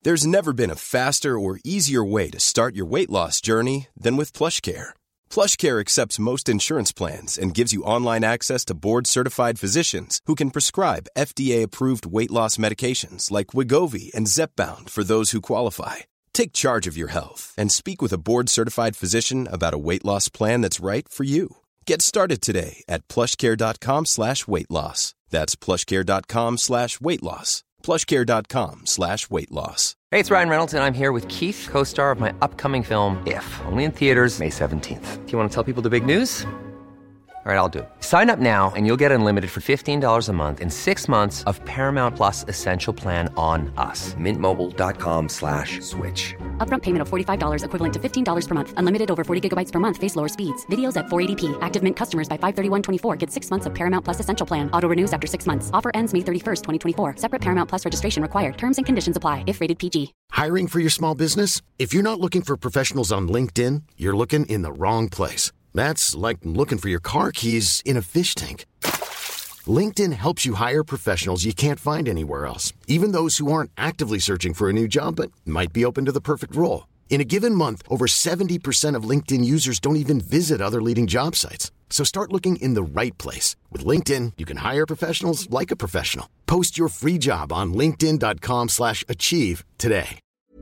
There's never been a faster or easier way to start your weight loss journey than with PlushCare. PlushCare accepts most insurance plans and gives you online access to board-certified physicians who can prescribe FDA-approved weight loss medications like Wegovy and Zepbound for those who qualify. Take charge of your health and speak with a board-certified physician about a weight loss plan that's right for you. Get started today at plushcare.com/weight loss. That's plushcare.com/weight loss. plushcare.com/weight loss. Hey, it's Ryan Reynolds, and I'm here with Keith, co-star of my upcoming film, If, only in theaters May 17th. Do you want to tell people the big news? All right, I'll do it. Sign up now and you'll get unlimited for $15 a month and 6 months of Paramount Plus Essential Plan on us. MintMobile.com/switch. Upfront payment of $45 equivalent to $15 per month. Unlimited over 40 gigabytes per month. Face lower speeds. Videos at 480p. Active Mint customers by 531.24 get 6 months of Paramount Plus Essential Plan. Auto renews after 6 months. Offer ends May 31st, 2024. Separate Paramount Plus registration required. Terms and conditions apply if rated PG. Hiring for your small business? If you're not looking for professionals on LinkedIn, you're looking in the wrong place. That's like looking for your car keys in a fish tank. LinkedIn helps you hire professionals you can't find anywhere else, even those who aren't actively searching for a new job but might be open to the perfect role. In a given month, over 70% of LinkedIn users don't even visit other leading job sites. So start looking in the right place. With LinkedIn, you can hire professionals like a professional. Post your free job on linkedin.com/achieve today.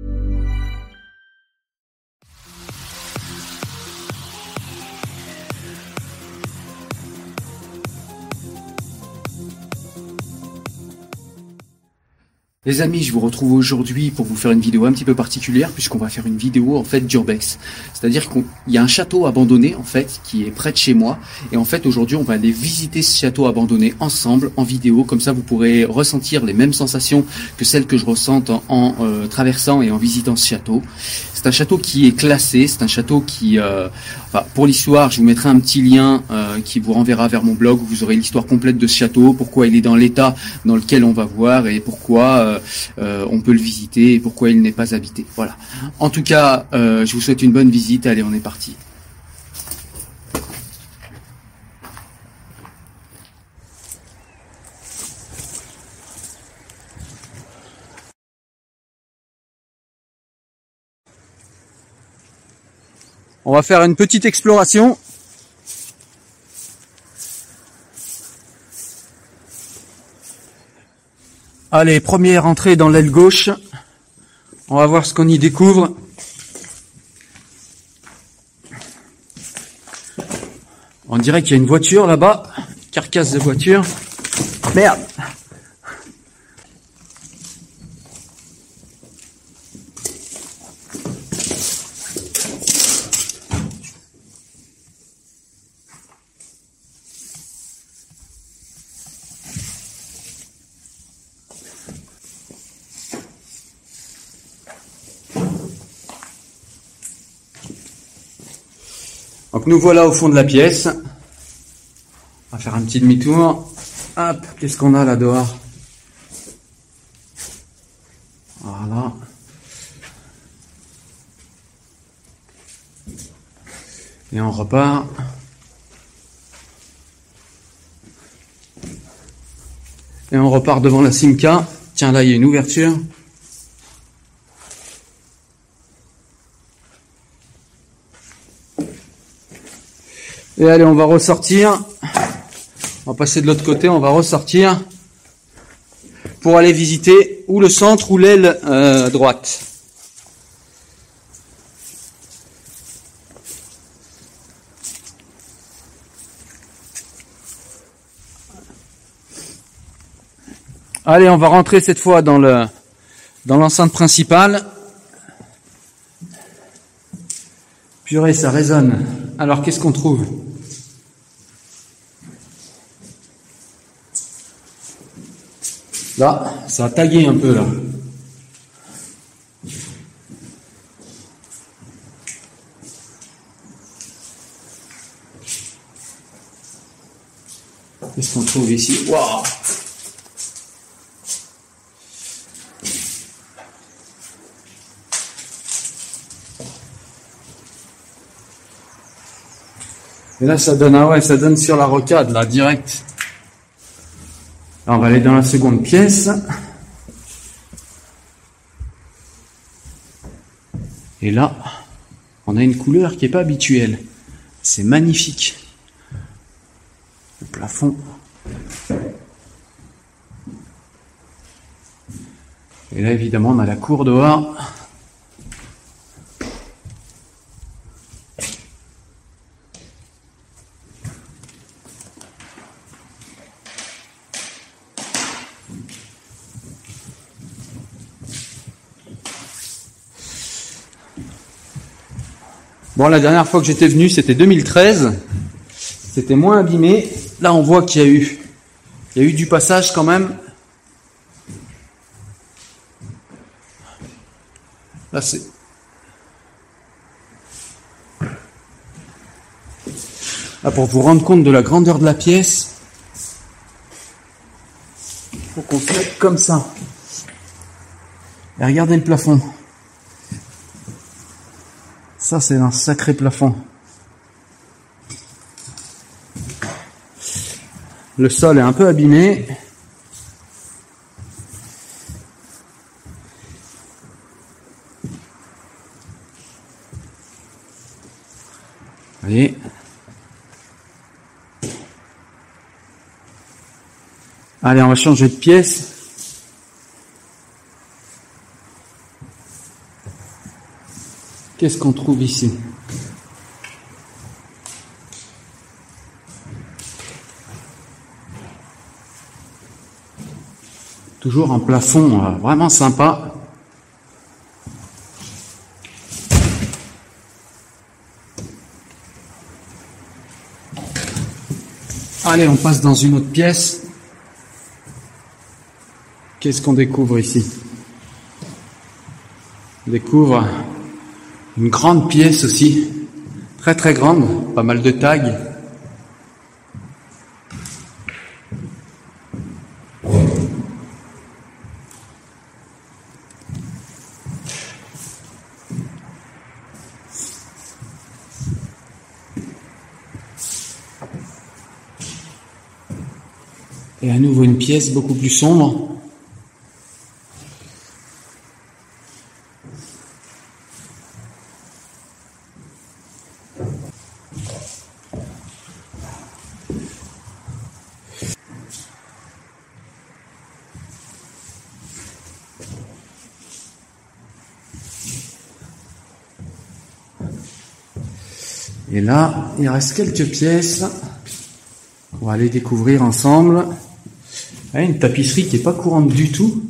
Les amis, je vous retrouve aujourd'hui pour vous faire une vidéo un petit peu particulière puisqu'on va faire une vidéo en fait d'urbex. C'est-à-dire qu'il y a un château abandonné en fait qui est près de chez moi et en fait aujourd'hui on va aller visiter ce château abandonné ensemble en vidéo. Comme ça vous pourrez ressentir les mêmes sensations que celles que je ressente en traversant et en visitant ce château. C'est un château qui est classé, c'est un château qui, pour l'histoire, je vous mettrai un petit lien qui vous renverra vers mon blog où vous aurez l'histoire complète de ce château, pourquoi il est dans l'état dans lequel on va voir et pourquoi on peut le visiter et pourquoi il n'est pas habité. Voilà. En tout cas, je vous souhaite une bonne visite. Allez, on est parti. On va faire une petite exploration. Allez, première entrée dans l'aile gauche. On va voir ce qu'on y découvre. On dirait qu'il y a une voiture là-bas. Carcasse de voiture. Merde! Donc nous voilà au fond de la pièce. On va faire un petit demi-tour. Hop, qu'est-ce qu'on a là dehors? Voilà. Et on repart. Et on repart devant la Simca. Tiens, là il y a une ouverture. Et allez, on va ressortir. On va passer de l'autre côté, on va ressortir pour aller visiter ou le centre ou l'aile droite. Allez, on va rentrer cette fois dans l'enceinte principale. Purée, ça résonne. Alors, qu'est-ce qu'on trouve? Là, ça a tagué un peu, là. Qu'est-ce qu'on trouve ici? Waouh! Et là, ça donne, ça donne sur la rocade, là, direct. Alors, on va aller dans la seconde pièce. Et là, on a une couleur qui n'est pas habituelle. C'est magnifique. Le plafond. Et là, évidemment, on a la cour dehors. Bon, la dernière fois que j'étais venu, c'était 2013. C'était moins abîmé. Là, on voit qu'il y a eu du passage quand même. Là, c'est... Là, pour vous rendre compte de la grandeur de la pièce, il faut qu'on se mette comme ça. Et regardez le plafond. Ça, c'est un sacré plafond. Le sol est un peu abîmé. Vous voyez. Allez, on va changer de pièce. Qu'est-ce qu'on trouve ici? Toujours un plafond vraiment sympa. Allez, on passe dans une autre pièce. Qu'est-ce qu'on découvre ici? On découvre une grande pièce aussi, très très grande, pas mal de tags. Et à nouveau une pièce beaucoup plus sombre. Et là, il reste quelques pièces qu'on va aller découvrir ensemble. Une tapisserie qui est pas courante du tout.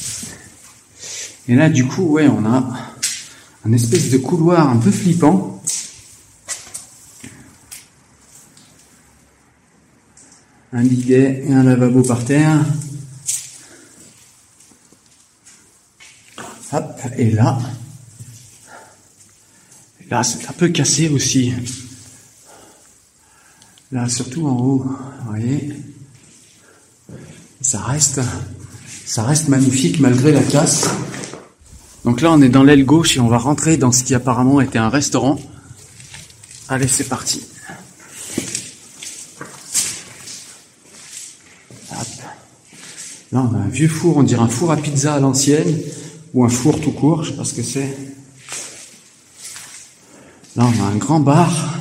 Et là, du coup, ouais, on a un espèce de couloir un peu flippant. Un bidet et un lavabo par terre. Hop, et là, c'est un peu cassé aussi. Là, surtout en haut, vous voyez. Ça reste magnifique malgré la casse. Donc là, on est dans l'aile gauche et on va rentrer dans ce qui apparemment était un restaurant. Allez, c'est parti. Hop. Là, on a un vieux four, on dirait un four à pizza à l'ancienne, ou un four tout court, je sais pas ce que c'est. Là, on a un grand bar.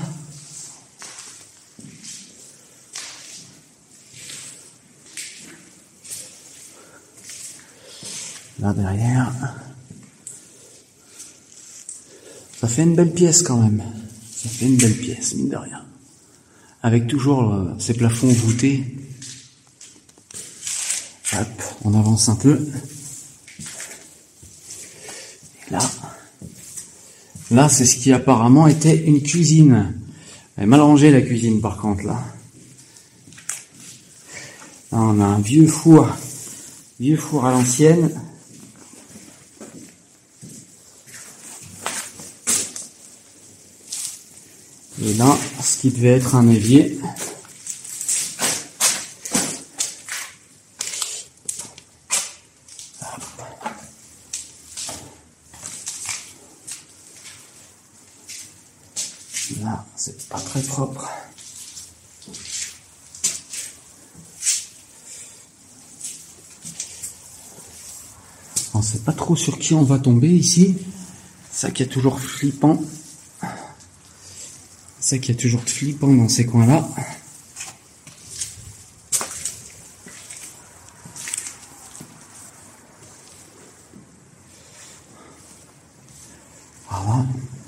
Là derrière, ça fait une belle pièce quand même. Ça fait une belle pièce, mine de rien. Avec toujours ces plafonds voûtés. Hop, on avance un peu. Et là, c'est ce qui apparemment était une cuisine. Elle est mal rangée la cuisine par contre là. Là, on a un vieux four à l'ancienne. Et là, ce qui devait être un évier. Là, c'est pas très propre. On sait pas trop sur qui on va tomber ici. Ça qui est toujours flippant. Ça qui est toujours flippant dans ces coins-là. Voilà.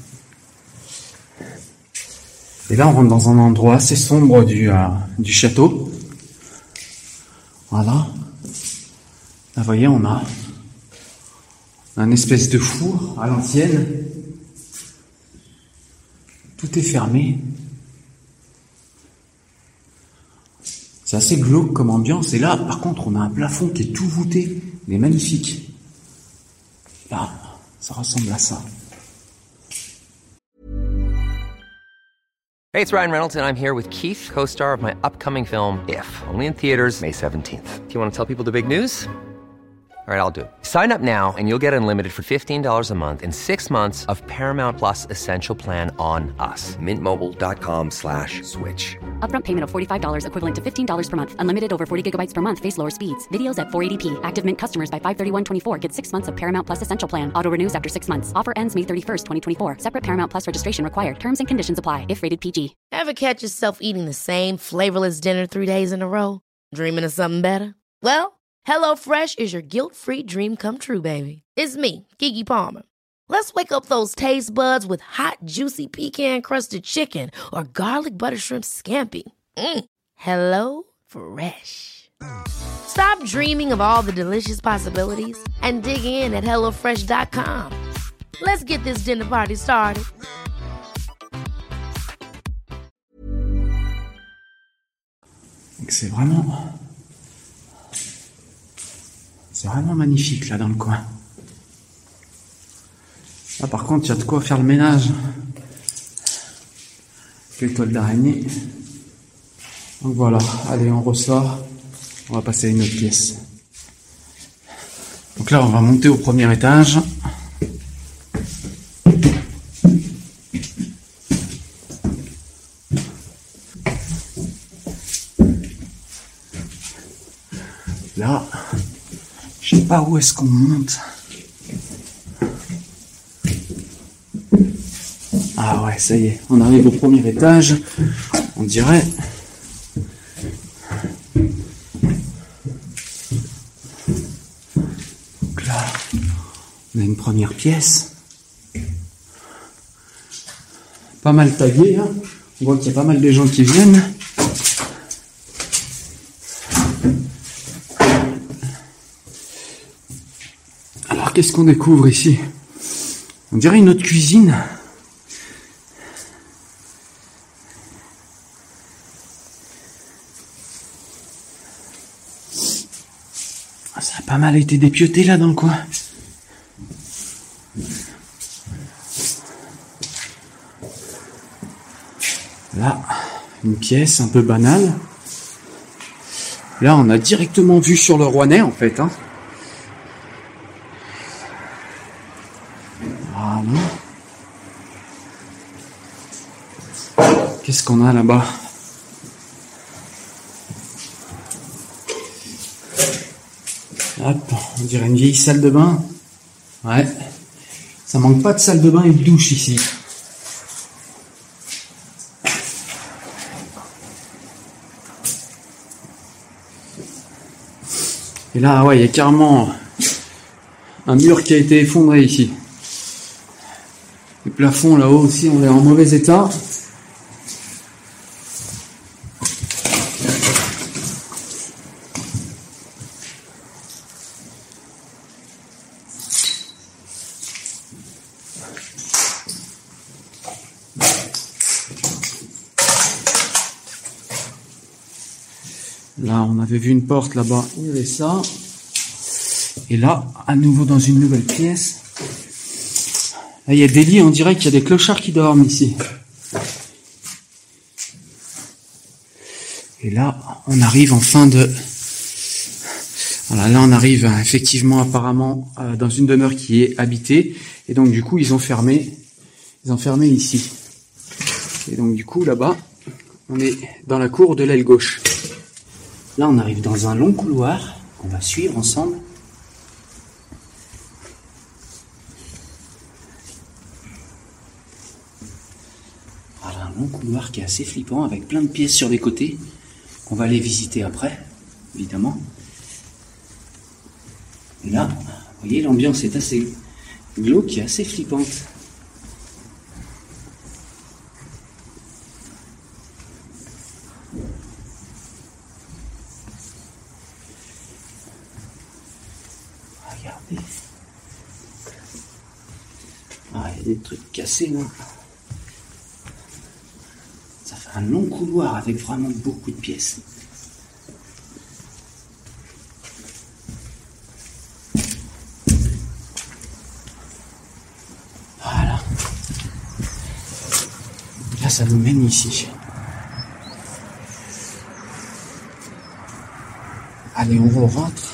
Et là, on rentre dans un endroit assez sombre du château. Voilà. Là, vous voyez, on a un espèce de four à l'ancienne. Tout est fermé. C'est assez glauque comme ambiance. Et là, par contre, on a un plafond qui est tout voûté. Il est magnifique. Là, ça ressemble à ça. Hey, it's Ryan Reynolds, and I'm here with Keith, co-star of my upcoming film, If, only in theaters May 17th. Do you want to tell people the big news? All right, I'll do it. Sign up now and you'll get unlimited for $15 a month and 6 months of Paramount Plus Essential Plan on us. MintMobile.com/switch. Upfront payment of $45 equivalent to $15 per month. Unlimited over 40 gigabytes per month. Face lower speeds. Videos at 480p. Active Mint customers by 531.24 get 6 months of Paramount Plus Essential Plan. Auto renews after 6 months. Offer ends May 31st, 2024. Separate Paramount Plus registration required. Terms and conditions apply if rated PG. Ever catch yourself eating the same flavorless dinner 3 days in a row? Dreaming of something better? Well, HelloFresh is your guilt-free dream come true, baby. It's me, Keke Palmer. Let's wake up those taste buds with hot, juicy pecan-crusted chicken or garlic butter shrimp scampi. Hello Fresh. Stop dreaming of all the delicious possibilities and dig in at HelloFresh.com. Let's get this dinner party started. C'est vraiment magnifique là dans le coin. Là par contre, il y a de quoi faire le ménage. Les toiles d'araignée. Donc voilà, allez, on ressort. On va passer à une autre pièce. Donc là, on va monter au premier étage. Là, je sais pas où est-ce qu'on monte. Ah ouais, ça y est, on arrive au premier étage. On dirait. Donc là, on a une première pièce. Pas mal tagué, hein. On voit qu'il y a pas mal de gens qui viennent. Alors, qu'est-ce qu'on découvre ici? On dirait une autre cuisine. Ça a pas mal été dépioté là dans le coin. Là, une pièce un peu banale. Là, on a directement vue sur le Rouennais en fait, hein. Voilà. Qu'est-ce qu'on a là-bas? Hop, on dirait une vieille salle de bain. Ouais. Ça manque pas de salle de bain et de douche ici. Et là, ouais, il y a carrément un mur qui a été effondré ici. Le plafond là-haut aussi, on est en mauvais état. Là, on avait vu une porte là-bas, il y avait ça. Et là, à nouveau dans une nouvelle pièce. Là, il y a des lits, on dirait qu'il y a des clochards qui dorment ici. Et là, on arrive en fin de... Voilà, là, on arrive effectivement apparemment dans une demeure qui est habitée. Et donc, du coup, ils ont fermé ici. Et donc, du coup, là-bas, on est dans la cour de l'aile gauche. Là, on arrive dans un long couloir qu'on va suivre ensemble. long couloir qui est assez flippant avec plein de pièces sur les côtés. On va aller visiter après, évidemment. Et là, vous voyez, l'ambiance est assez glauque et assez flippante. Regardez. Ah, il y a des trucs cassés là. Ça fait un long couloir avec vraiment beaucoup de pièces. Voilà. Là, ça nous mène ici. Allez, on rentre.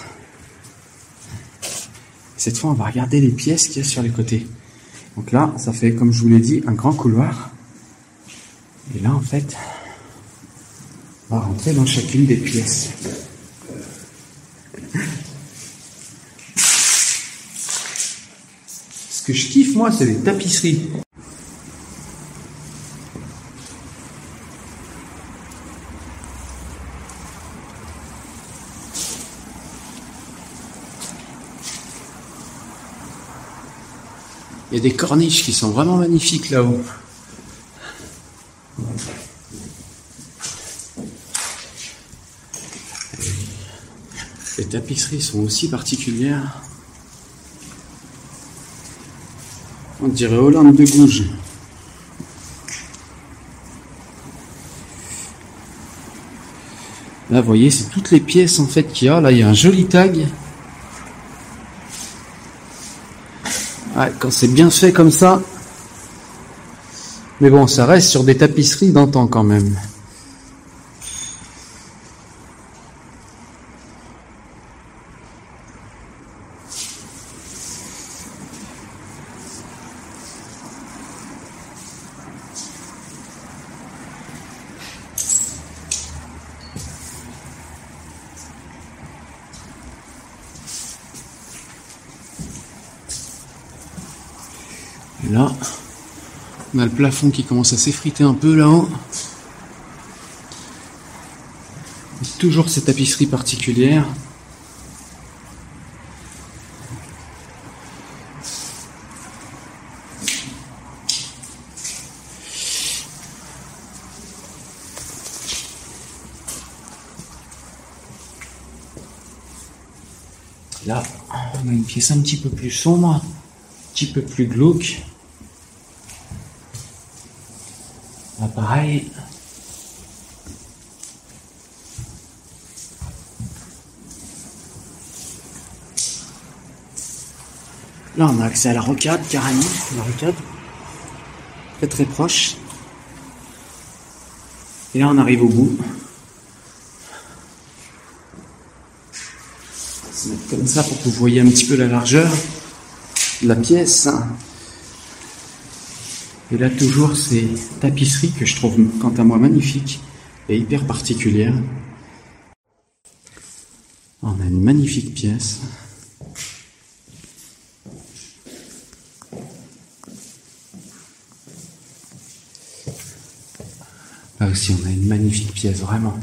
Cette fois, on va regarder les pièces qu'il y a sur les côtés. Donc là, ça fait, comme je vous l'ai dit, un grand couloir. Et là, en fait, on va rentrer dans chacune des pièces. Ce que je kiffe, moi, c'est les tapisseries. Il y a des corniches qui sont vraiment magnifiques là-haut. Les tapisseries sont aussi particulières. On dirait Hollande de Gouges. Là, vous voyez, c'est toutes les pièces en fait qu'il y a. Là, il y a un joli tag. Ouais, quand c'est bien fait comme ça. Mais bon, ça reste sur des tapisseries d'antan quand même. Et là, on a le plafond qui commence à s'effriter un peu là-haut. Toujours ces tapisseries particulières. Là, on a une pièce un petit peu plus sombre, un petit peu plus glauque. Là, pareil. Là, on a accès à la rocade, carrément. La rocade. Très très proche. Et là, on arrive au bout. On va se mettre comme ça pour que vous voyez un petit peu la largeur de la pièce. Et là, toujours ces tapisseries que je trouve, quant à moi, magnifiques et hyper particulières. On a une magnifique pièce. Là aussi, on a une magnifique pièce, vraiment.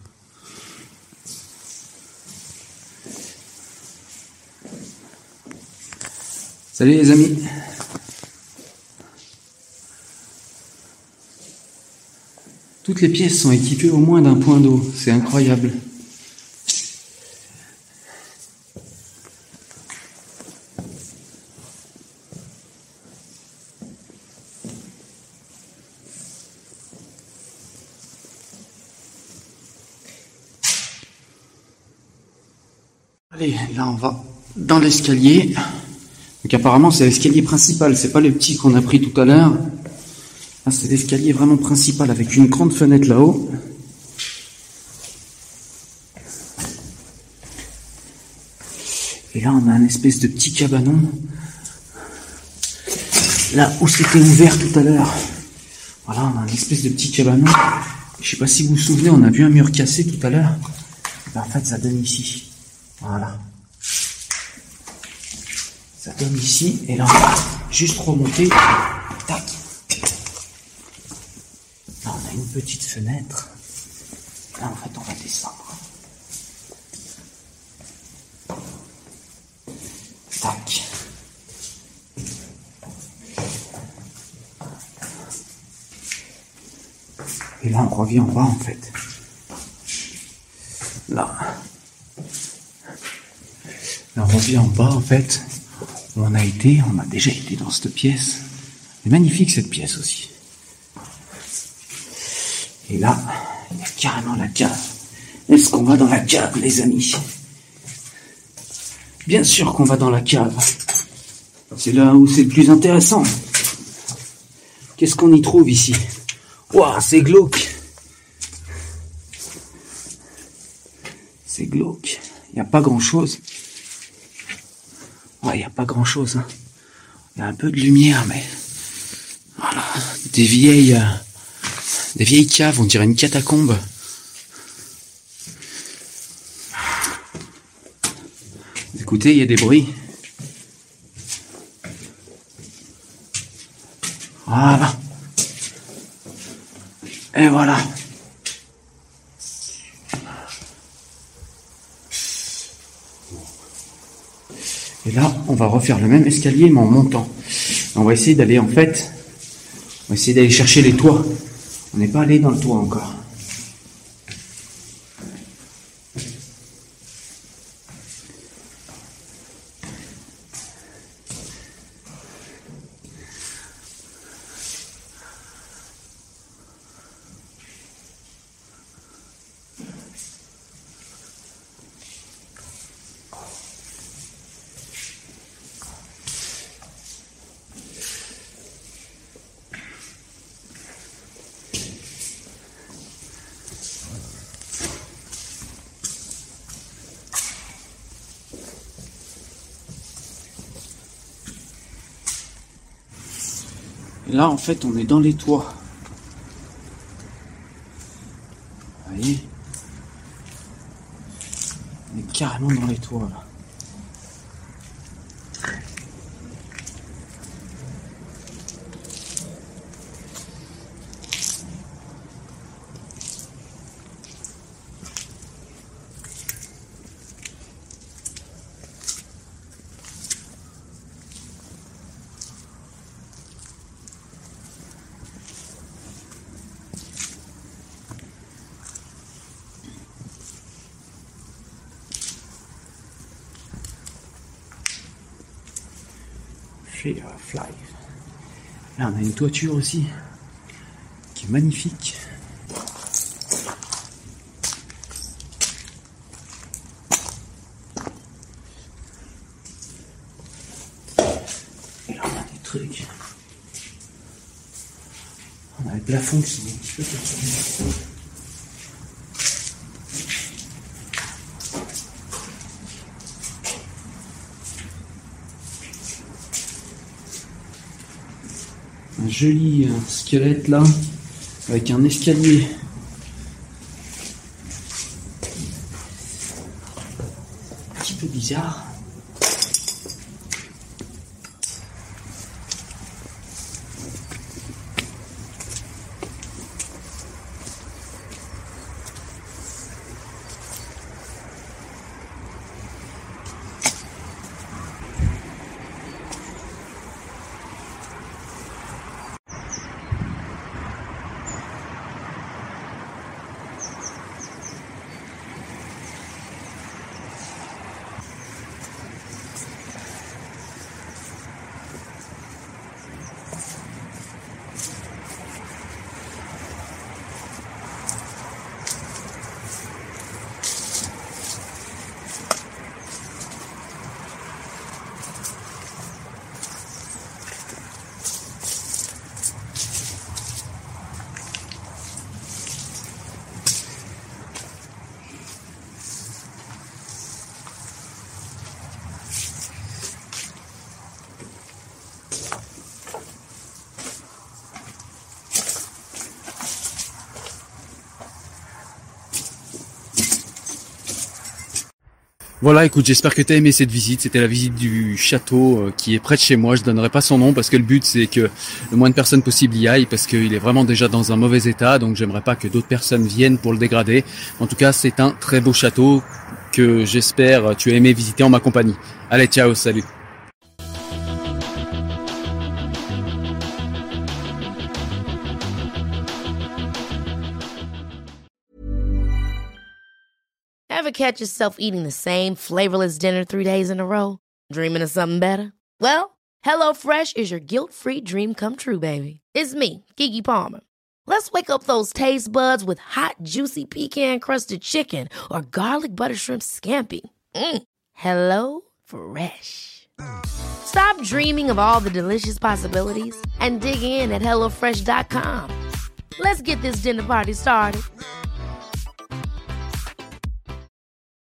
Salut les amis. Toutes les pièces sont équipées au moins d'un point d'eau, c'est incroyable. Allez, là on va dans l'escalier. Donc apparemment c'est l'escalier principal, c'est pas le petit qu'on a pris tout à l'heure. Là c'est l'escalier vraiment principal avec une grande fenêtre là-haut. Et là on a un espèce de petit cabanon. Là où c'était ouvert tout à l'heure. Voilà, on a un espèce de petit cabanon. Je sais pas si vous vous souvenez, on a vu un mur cassé tout à l'heure. Ben, en fait ça donne ici. Voilà. Ça donne ici, et là on va juste remonter. Tac. petite fenêtre. Là, en fait, on va descendre. Tac. Et là, on revient en bas, en fait. Là, on revient en bas, en fait. Où on a déjà été dans cette pièce. C'est magnifique, cette pièce aussi. Et là, il y a carrément la cave. Est-ce qu'on va dans la cave, les amis? Bien sûr qu'on va dans la cave. C'est là où c'est le plus intéressant. Qu'est-ce qu'on y trouve ici? Waouh, c'est glauque. C'est glauque. Il n'y a pas grand-chose. Ouais, il n'y a pas grand-chose. Hein. Il y a un peu de lumière, mais... Voilà. Des vieilles caves, on dirait une catacombe. Écoutez, il y a des bruits. Voilà. Et voilà. Et là, on va refaire le même escalier, mais en montant. On va essayer d'aller, en fait, chercher les toits. On n'est pas allé dans le toit encore. Et là, en fait, on est dans les toits. Vous voyez? On est carrément dans les toits, là. Fly. Là, on a une toiture aussi qui est magnifique. Et là, on a des trucs. On a le plafond qui sont un petit peu perturbés. Un joli squelette là, avec un escalier. Un petit peu bizarre. Voilà, écoute, j'espère que tu as aimé cette visite. C'était la visite du château qui est près de chez moi. Je donnerai pas son nom parce que le but c'est que le moins de personnes possible y aillent parce qu'il est vraiment déjà dans un mauvais état. Donc j'aimerais pas que d'autres personnes viennent pour le dégrader. En tout cas, c'est un très beau château que j'espère tu as aimé visiter en ma compagnie. Allez, ciao, salut. Ever catch yourself eating the same flavorless dinner 3 days in a row? Dreaming of something better? Well, HelloFresh is your guilt-free dream come true, baby. It's me, Keke Palmer. Let's wake up those taste buds with hot, juicy pecan-crusted chicken or garlic butter shrimp scampi. Hello Fresh. Stop dreaming of all the delicious possibilities and dig in at HelloFresh.com. Let's get this dinner party started.